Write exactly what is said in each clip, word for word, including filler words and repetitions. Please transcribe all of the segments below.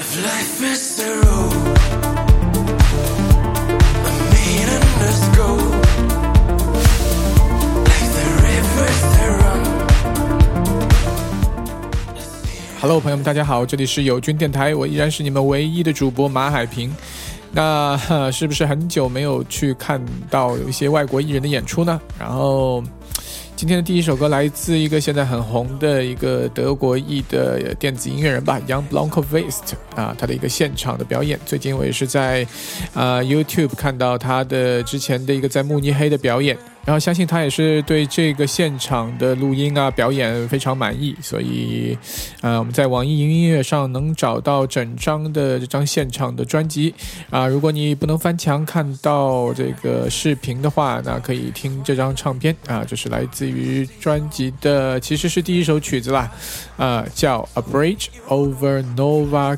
If life is the road, the meaningless go, like the rivers that run. Hello， 朋友们，大家好，这里是友军电台，我依然是你们唯一的主播马海平。那是不是很久没有去看到有一些外国艺人的演出呢？然后今天的第一首歌来自一个现在很红的一个德国裔的电子音乐人吧 Jan Blomqvist 啊，他的一个现场的表演。最近我也是在、呃、YouTube 看到他的之前的一个在慕尼黑的表演，然后相信他也是对这个现场的录音啊表演非常满意，所以、呃、我们在网易云音乐上能找到整张的这张现场的专辑啊。如果你不能翻墙看到这个视频的话，那可以听这张唱片啊，这是来自于专辑的，其实是第一首曲子啦，啊，叫 A Bridge Over Nova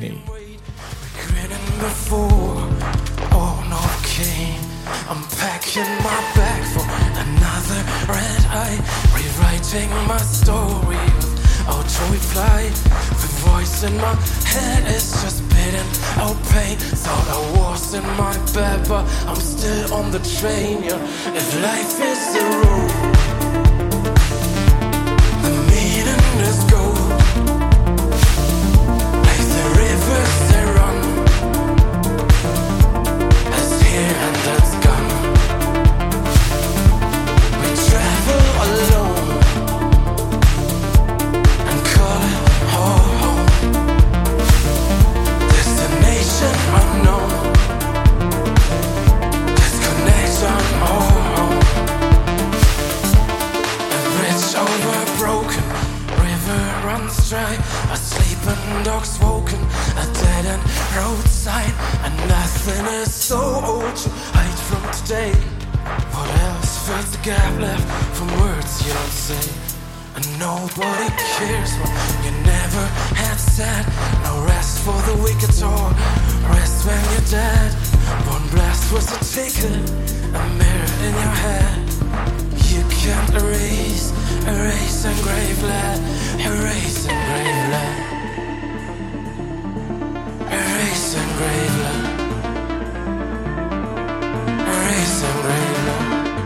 Cane。I'm packing my bag for another red eye, rewriting my story with auto reply. The voice in my head is just spitting out pain. Thought I was in my bed, but I'm still on the train. Yeah. If life is the road, the meaning is gold, like the rivers that run. That's here and that's gone. Alone and call it home. Destination unknown. Disconnection, oh. A bridge over broken, river runs dry. A sleeping dog's woken, a dead end roadside, and nothing is so old to hide from today. What else fills the gap left from words you don't say? And nobody cares what you never had said. No rest for the weak at all, rest when you're dead. One blast was a ticket, a mirror in your head. You can't erase, erase engraved lead, erase engraved lead, erase engraved lead, erase engraved lead.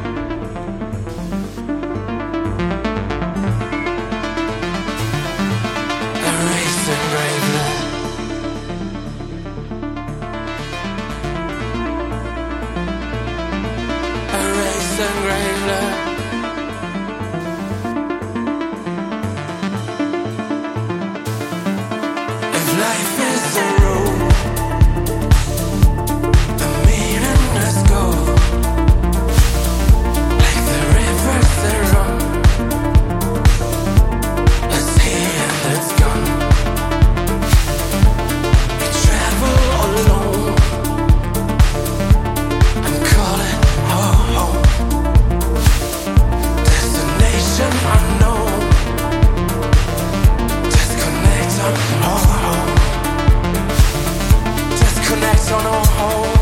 Oh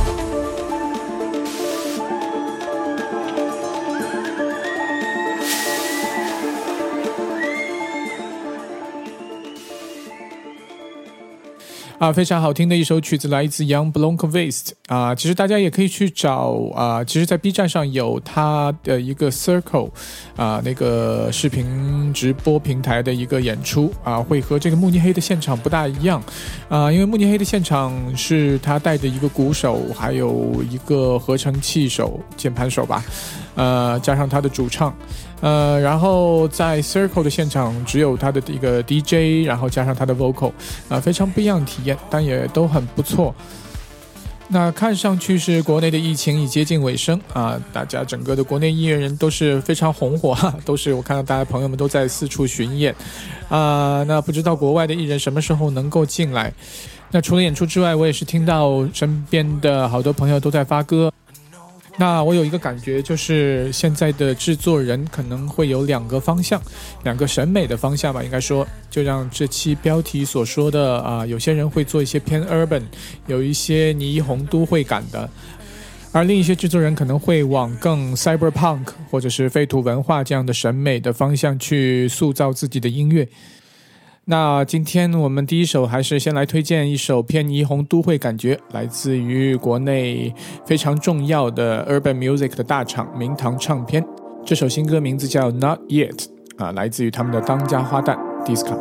啊，非常好听的一首曲子，来自 Jan Blomqvist 啊。其实大家也可以去找啊，其实在 B 站上有他的一个 Circle 啊，那个视频直播平台的一个演出啊，会和这个慕尼黑的现场不大一样啊，因为慕尼黑的现场是他带着一个鼓手，还有一个合成器手、键盘手吧，呃，加上他的主唱。呃，然后在 Circle 的现场只有他的一个 D J， 然后加上他的 vocal， 啊、呃，非常不一样的体验，但也都很不错。那看上去是国内的疫情已接近尾声啊，大家整个的国内音乐人都是非常红火哈，都是我看到大家朋友们都在四处巡演啊。那不知道国外的艺人什么时候能够进来？那除了演出之外，我也是听到身边的好多朋友都在发歌。那我有一个感觉，就是现在的制作人可能会有两个方向，两个审美的方向吧，应该说，就像这期标题所说的啊、呃，有些人会做一些偏 urban， 有一些霓虹都会感的，而另一些制作人可能会往更 cyberpunk 或者是废土文化这样的审美的方向去塑造自己的音乐。 那今天我们第一首还是先来推荐一首偏霓虹都会感觉，来自于国内非常重要的 Urban Music 的大厂明堂唱片。这首新歌名字叫 Not Yet， 啊，来自于他们的当家花旦 Disca。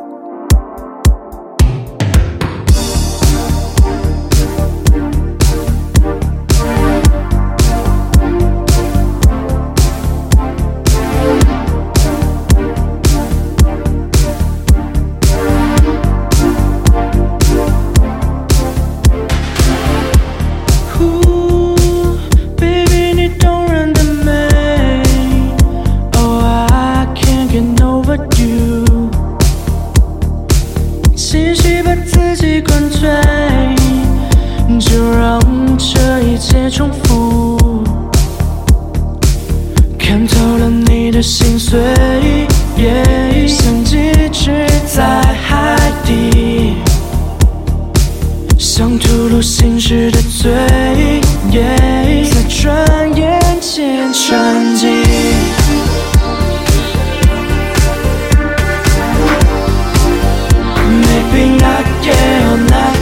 心碎， yeah， 像寄居在海底，像吐露心事的嘴， yeah， 在转眼间沉寂。Maybe not yet, oh not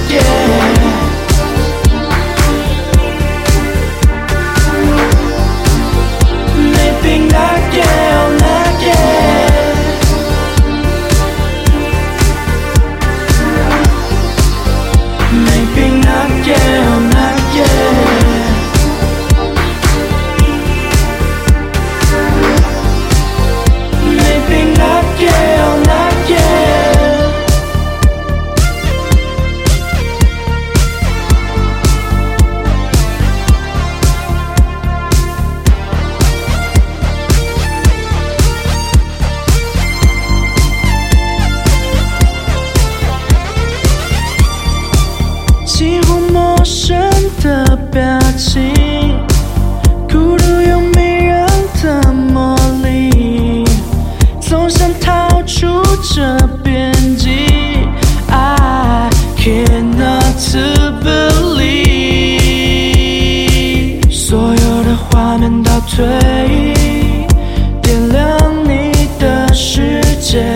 yet。Maybe not yet, oh not yet。 Maybe not yet, oh not yet。 Maybe not yet, oh not yet。 几乎陌生的表情，孤独又迷人的魔力，总想逃出这边际。I cannot believe， 所有的画面倒退，点亮你的世界，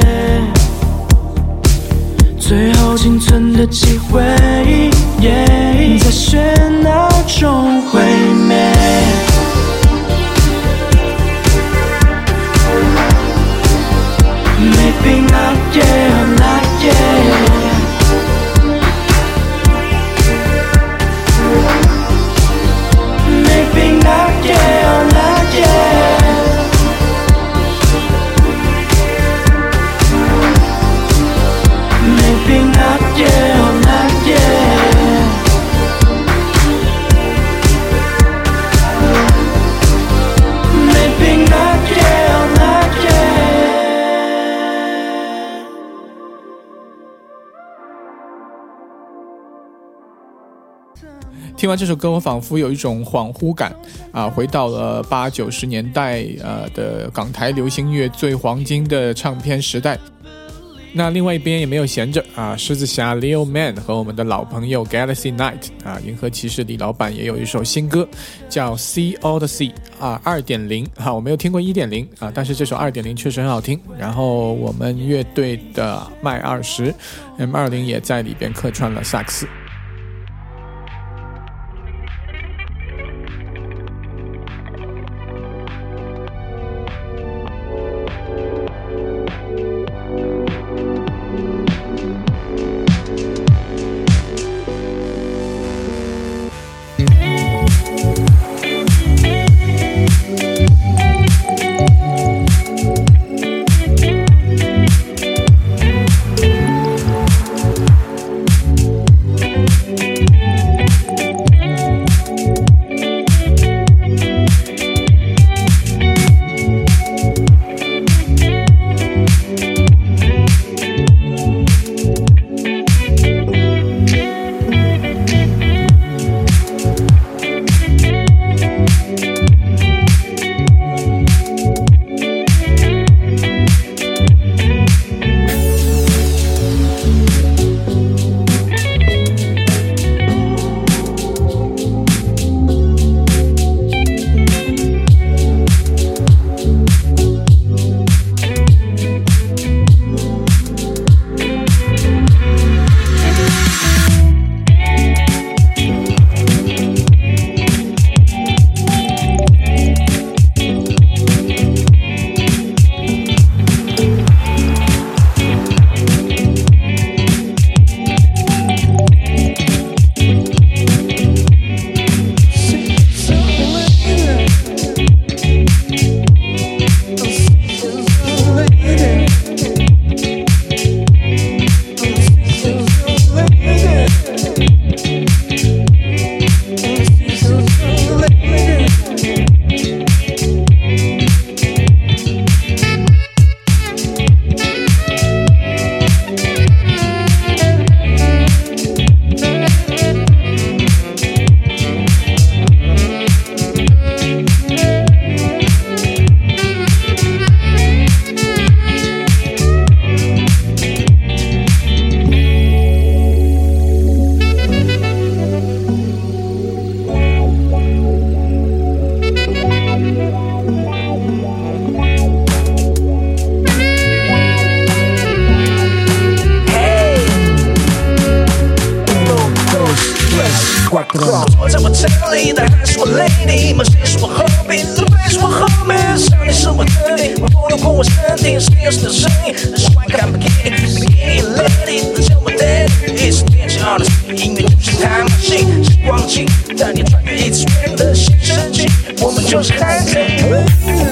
最后仅存的机会， yeah， 在喧闹中毁灭。Maybe not yet, oh not yet。 Maybe not yet, oh not yet。 Maybe not yet, oh not yet。 Maybe not yet, oh not yet。 听完这首歌，我仿佛有一种恍惚感啊，回到了八九十年代呃的港台流行乐最黄金的唱片时代。那另外一边也没有闲着啊，狮子侠 Leo Man 和我们的老朋友 Galaxy Night 啊，银河骑士李老板也有一首新歌叫 See All the Sea 啊 二点零 啊，我没有听过 一点零 啊，但是这首 二点零 确实很好听。然后我们乐队的麦二十 M 二零 也在里边客串了萨克斯。 坐在我车里的还是我 lady， 梦想是我 hobby， 路飞是我 homie， 上帝是我特地，我不流过我身体 ，skills 的声音，喜欢看 bikini，bikini lady， 叫我 daddy， 一直惦记 honesty， 音乐就是他马戏，时光机带你穿越一次元的新世纪，我们就是海贼。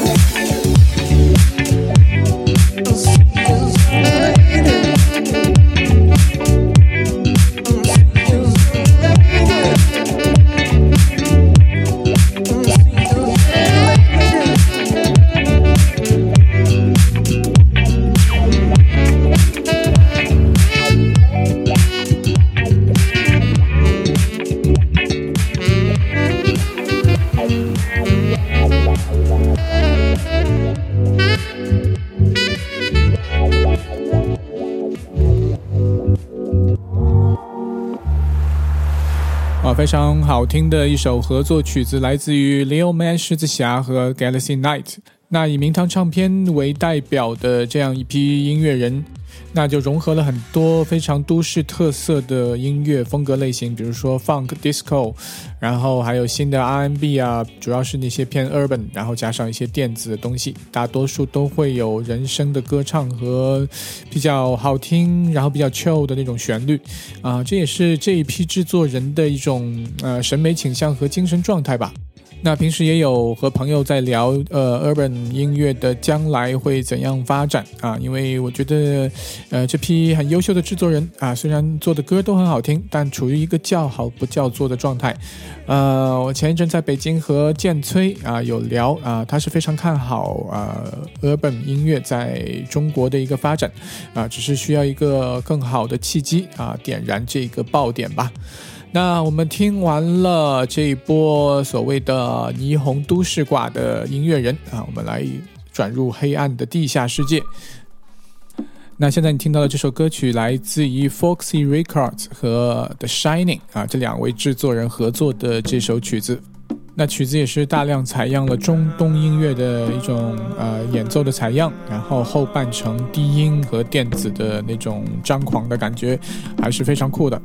非常好听的一首合作曲子，来自于 Leo Man 狮子侠和 Galaxy Knight。那以明堂唱片为代表的这样一批音乐人，那就融合了很多非常都市特色的音乐风格类型，比如说 Funk、Disco， 然后还有新的 R and B 啊，主要是那些偏 Urban， 然后加上一些电子的东西，大多数都会有人声的歌唱和比较好听，然后比较 chill 的那种旋律啊，这也是这一批制作人的一种呃审美倾向和精神状态吧。那平时也有和朋友在聊呃 urban 音乐的将来会怎样发展啊，因为我觉得呃这批很优秀的制作人啊，虽然做的歌都很好听，但处于一个叫好不叫座的状态。呃我前一阵在北京和建崔啊有聊啊，他是非常看好啊 urban 音乐在中国的一个发展啊，只是需要一个更好的契机啊，点燃这个爆点吧。那我们听完了这一波所谓的霓虹都市挂的音乐人啊，我们来转入黑暗的地下世界。那现在你听到的这首歌曲来自于 Foxy Records 和 The Shining 啊，这两位制作人合作的这首曲子。那曲子也是大量采样了中东音乐的一种呃演奏的采样，然后后半程低音和电子的那种张狂的感觉，还是非常酷的。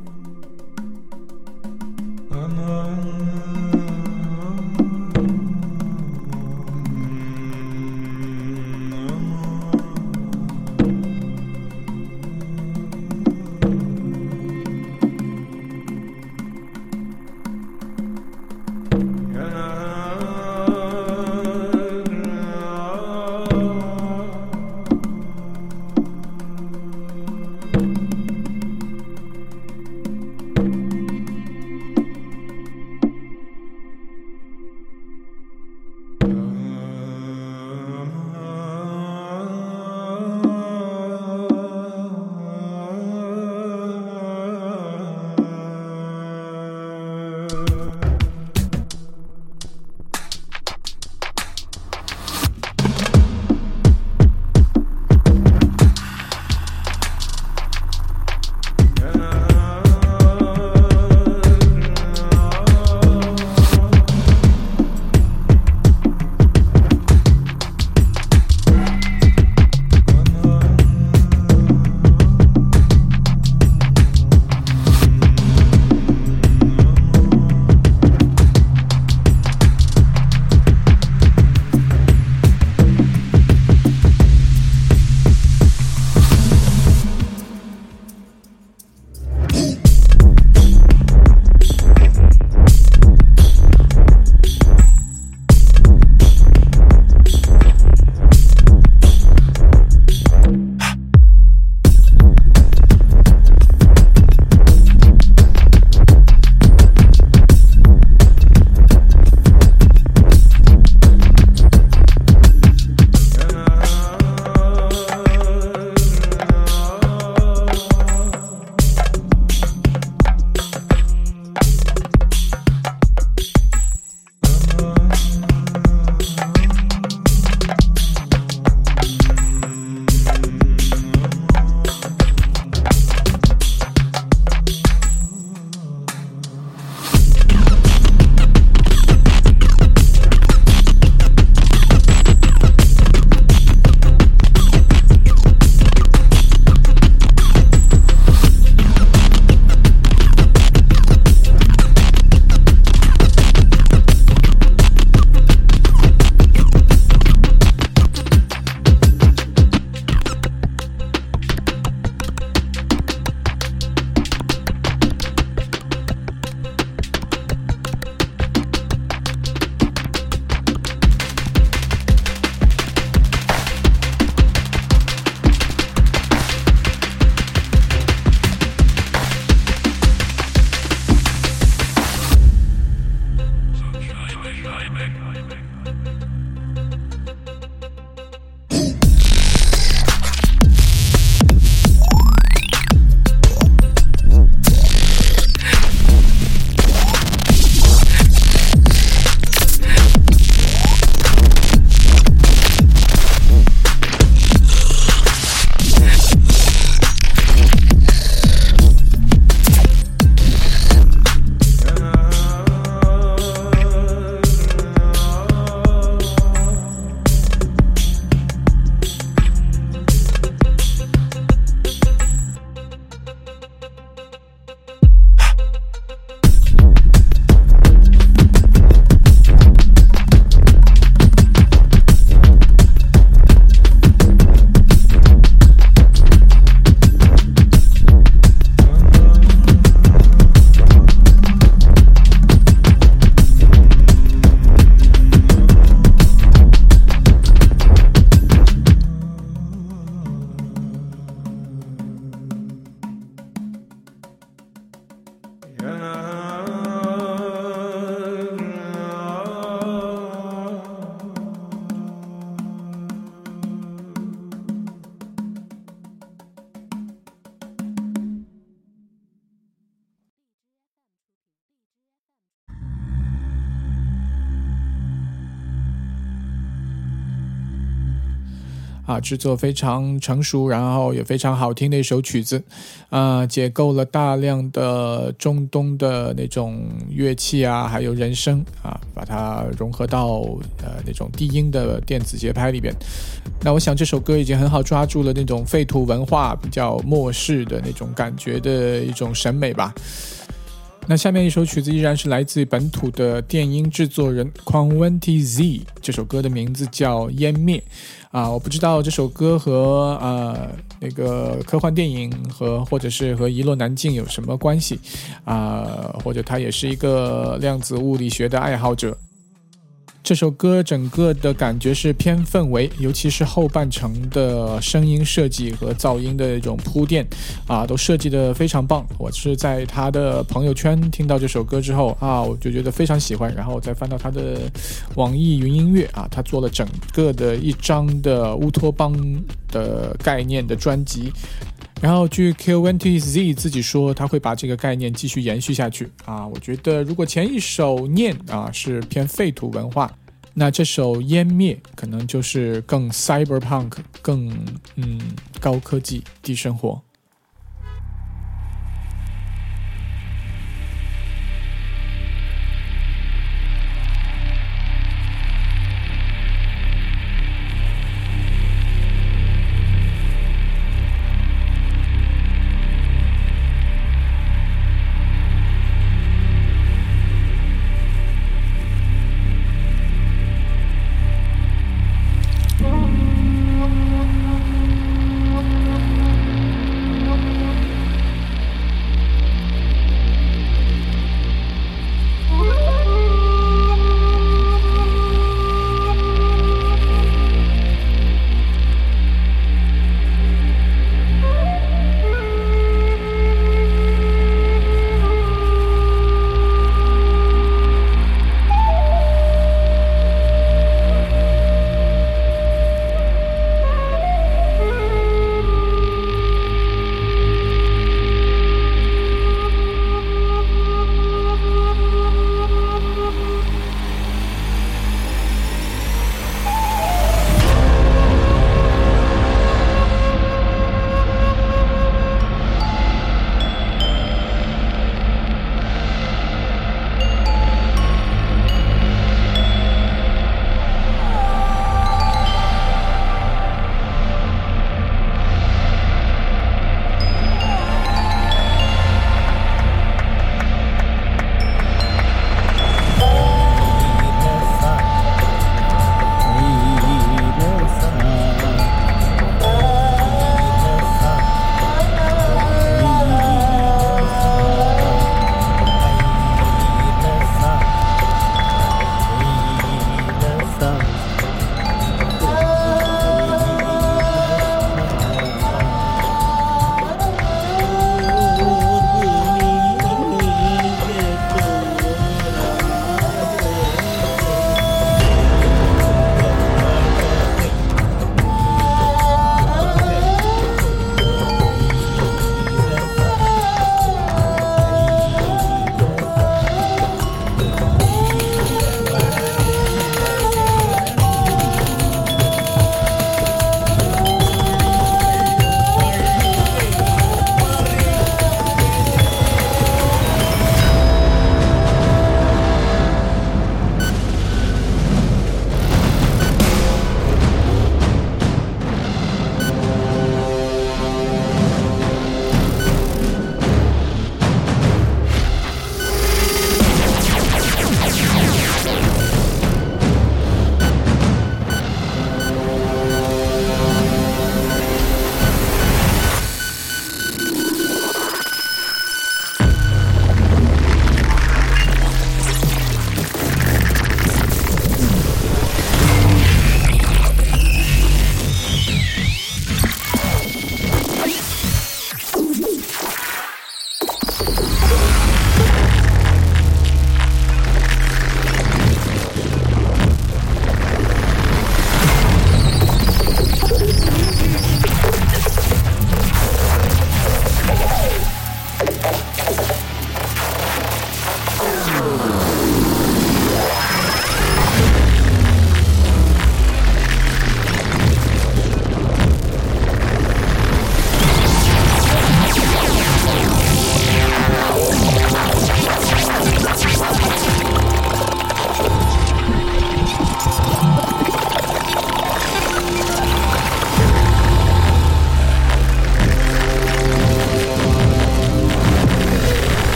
啊，制作非常成熟，然后也非常好听的一首曲子，啊，解构了大量的中东的那种乐器啊，还有人声啊，把它融合到呃那种低音的电子节拍里边。那我想这首歌已经很好抓住了那种废土文化比较末世的那种感觉的一种审美吧。那下面一首曲子依然是来自本土的电音制作人 Quantity Z， 这首歌的名字叫湮灭啊，我不知道这首歌和呃那个科幻电影和或者是和遗落南境有什么关系啊，或者他也是一个量子物理学的爱好者。这首歌整个的感觉是偏氛围，尤其是后半程的声音设计和噪音的一种铺垫啊，都设计得非常棒。我是在他的朋友圈听到这首歌之后啊，我就觉得非常喜欢，然后再翻到他的网易云音乐啊，他做了整个的一张的乌托邦的概念的专辑。然后据 Quantity Z 自己说，他会把这个概念继续延续下去啊。我觉得如果前一首念啊是偏废土文化，那这首湮灭可能就是更 cyberpunk， 更嗯高科技低生活。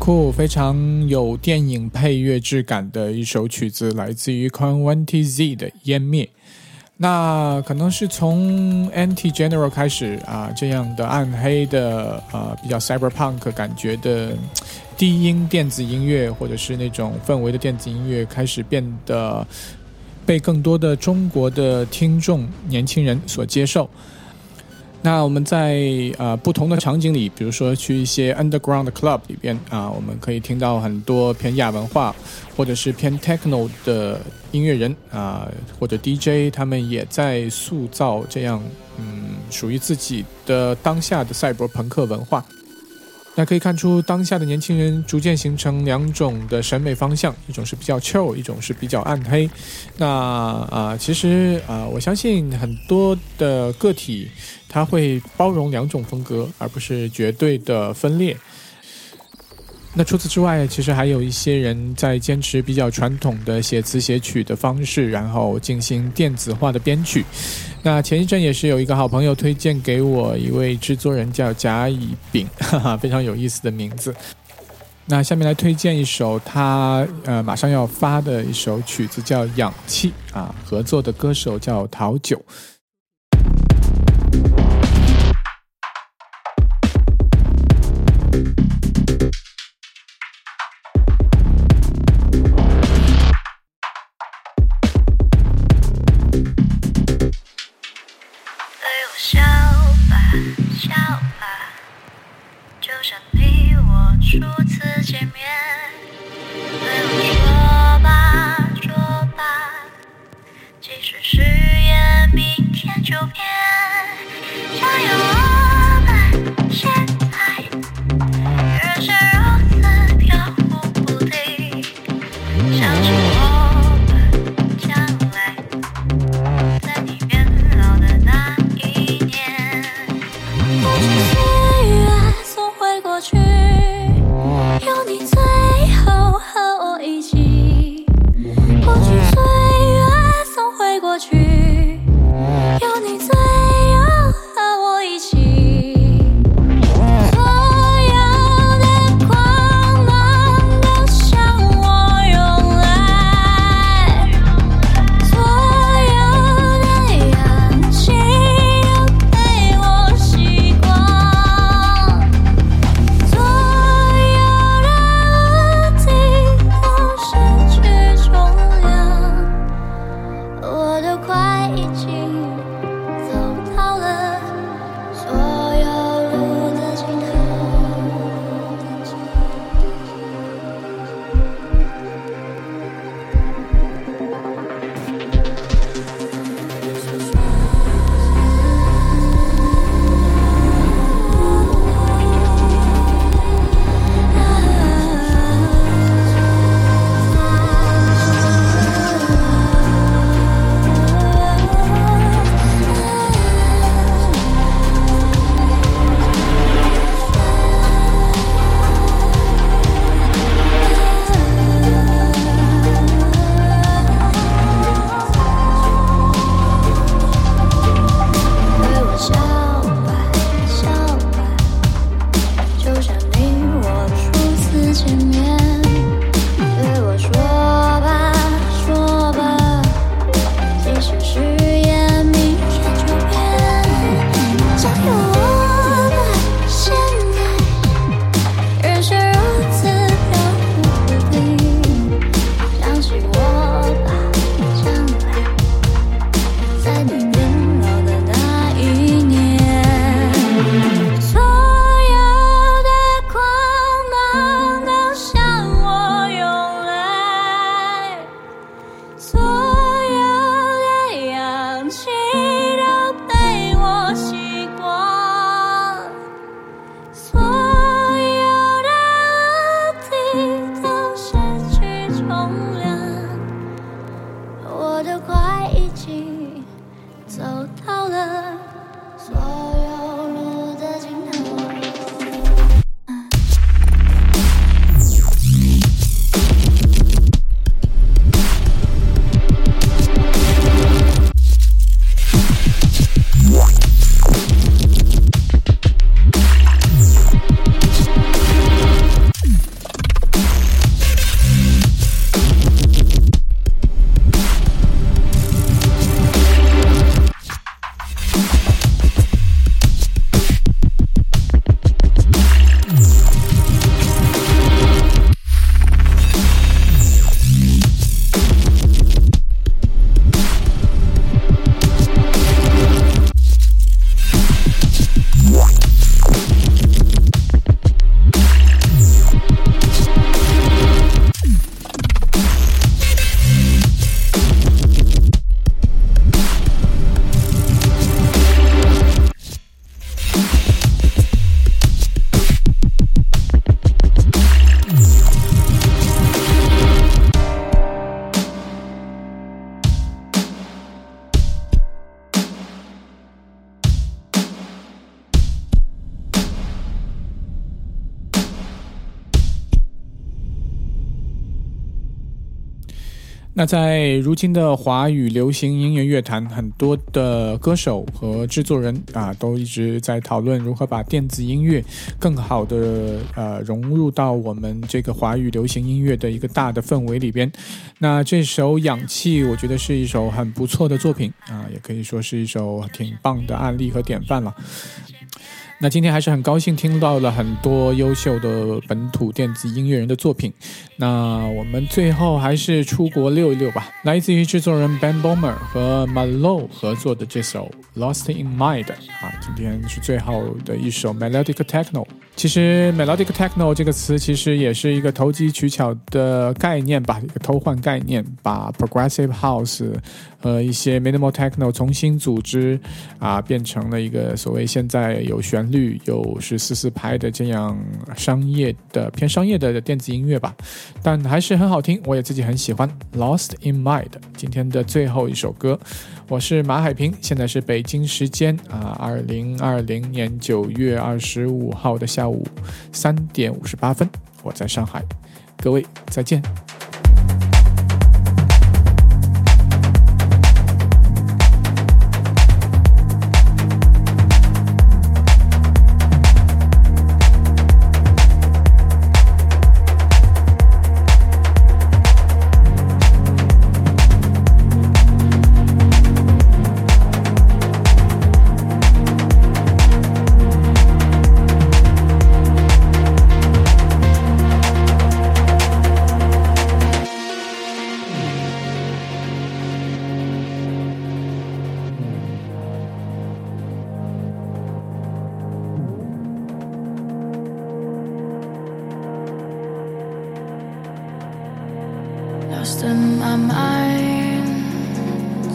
酷，非常有电影配乐质感的一首曲子，来自于 Conventi Z 的湮灭。那可能是从 Anti General 开始啊，这样的暗黑的啊比较 cyberpunk 感觉的低音电子音乐，或者是那种氛围的电子音乐，开始变得被更多的中国的听众年轻人所接受。那我们在呃不同的场景里，比如说去一些 underground club 里边啊，我们可以听到很多偏亚文化或者是偏 techno 的音乐人啊，或者 D J， 他们也在塑造这样嗯属于自己的当下的赛博朋克文化。那可以看出当下的年轻人逐渐形成两种的审美方向，一种是比较 chill， 一种是比较暗黑。那啊、呃，其实啊、呃，我相信很多的个体它会包容两种风格，而不是绝对的分裂。那除此之外，其实还有一些人在坚持比较传统的写词写曲的方式，然后进行电子化的编曲。那前一阵也是有一个好朋友推荐给我一位制作人叫甲乙丙，哈哈，非常有意思的名字。那下面来推荐一首他呃马上要发的一首曲子，叫《氧气》啊，合作的歌手叫陶九。 笑吧，笑吧，就像你我初次见面。对我说吧，说吧，即使誓言明天就变。加油，我们现在人生如此飘忽不定，相信我们将来在你变老的那一年。过去岁月总会过去，有你最后和我一起。过去岁月总会过去，有你最那在如今的华语流行音乐乐坛，很多的歌手和制作人啊，都一直在讨论如何把电子音乐更好的呃融入到我们这个华语流行音乐的一个大的氛围里边。那这首《氧气》我觉得是一首很不错的作品啊，也可以说是一首挺棒的案例和典范了。那今天还是很高兴听到了很多优秀的本土电子音乐人的作品。那我们最后还是出国溜一溜吧，来自于制作人 Ben Böhmer 和 Malo 合作的这首 Lost in Mind 啊，今天是最后的一首 Melodic Techno。其实 Melodic Techno 这个词其实也是一个投机取巧的概念吧，一个偷换概念，把 Progressive House 和一些 Minimal Techno 重新组织啊，变成了一个所谓现在有旋律有是四四拍的这样商业的偏商业的电子音乐吧，但还是很好听，我也自己很喜欢 Lost in Mind 今天的最后一首歌。我是马海平，现在是北京时间啊，二零二零年九月二十五号的下午三点五十八分，我在上海，各位再见。 Lost in my mind,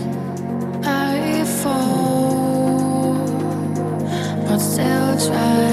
I fall, but still try.